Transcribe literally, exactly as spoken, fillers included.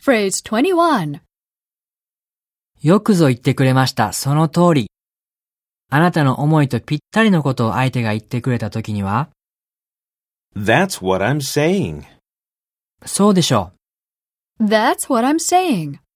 Phrase twenty-one. よくぞ言ってくれました。その通り。あなたの思いとぴったりのことを相手が言ってくれたときには、 That's what I'm saying. そうでしょう。 That's what I'm saying.